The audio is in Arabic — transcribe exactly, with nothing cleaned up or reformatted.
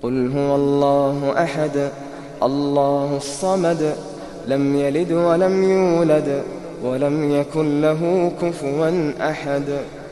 قل هو الله أحد الله الصمد لم يلد ولم يولد ولم يكن له كفوا أحد.